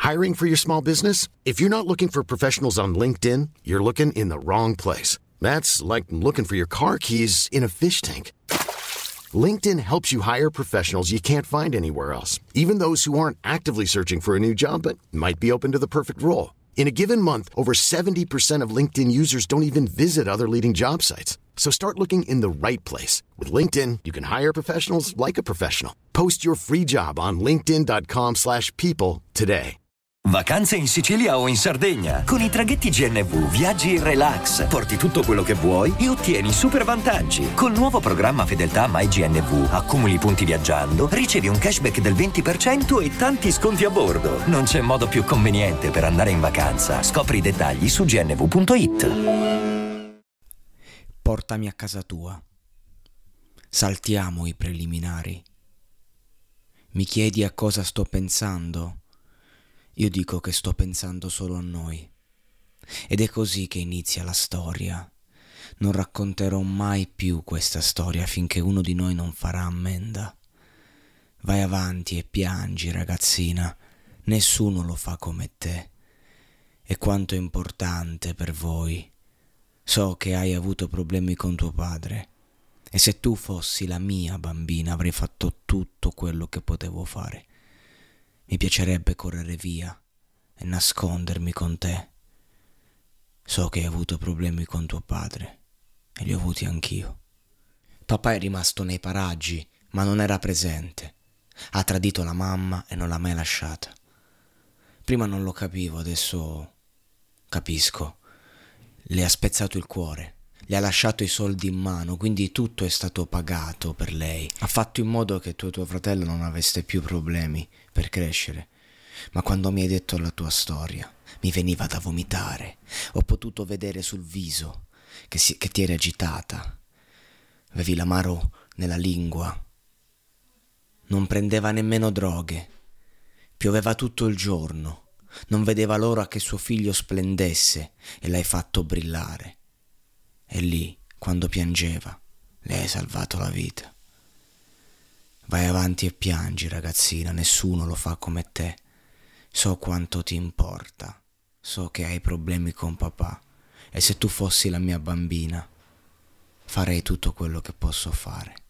Hiring for your small business? If you're not looking for professionals on LinkedIn, you're looking in the wrong place. That's like looking for your car keys in a fish tank. LinkedIn helps you hire professionals you can't find anywhere else, even those who aren't actively searching for a new job but might be open to the perfect role. In a given month, over 70% of LinkedIn users don't even visit other leading job sites. So start looking in the right place. With LinkedIn, you can hire professionals like a professional. Post your free job on linkedin.com/people today. Vacanze in Sicilia o in Sardegna. Con i traghetti GNV viaggi in relax, porti tutto quello che vuoi e ottieni super vantaggi. Col nuovo programma Fedeltà MyGNV accumuli punti viaggiando, ricevi un cashback del 20% e tanti sconti a bordo. Non c'è modo più conveniente per andare in vacanza. Scopri i dettagli su gnv.it. Portami a casa tua. Saltiamo i preliminari. Mi chiedi a cosa sto pensando? Io dico che sto pensando solo a noi. Ed è così che inizia la storia. Non racconterò mai più questa storia finché uno di noi non farà ammenda. Vai avanti e piangi, ragazzina. Nessuno lo fa come te. E quanto è importante per voi. So che hai avuto problemi con tuo padre. E se tu fossi la mia bambina avrei fatto tutto quello che potevo fare. Mi piacerebbe correre via e nascondermi con te. So che hai avuto problemi con tuo padre e li ho avuti anch'io. Papà è rimasto nei paraggi, ma non era presente. Ha tradito la mamma e non l'ha mai lasciata. Prima non lo capivo, adesso capisco. Le ha spezzato il cuore. Le ha lasciato i soldi in mano, quindi tutto è stato pagato per lei. Ha fatto in modo che tu e tuo fratello non aveste più problemi per crescere. Ma quando mi hai detto la tua storia, mi veniva da vomitare. Ho potuto vedere sul viso che ti eri agitata. Avevi l'amaro nella lingua. Non prendeva nemmeno droghe. Pioveva tutto il giorno. Non vedeva l'ora che suo figlio splendesse e l'hai fatto brillare. E lì, quando piangeva, le hai salvato la vita. Vai avanti e piangi, ragazzina, nessuno lo fa come te. So quanto ti importa, so che hai problemi con papà, e se tu fossi la mia bambina, farei tutto quello che posso fare.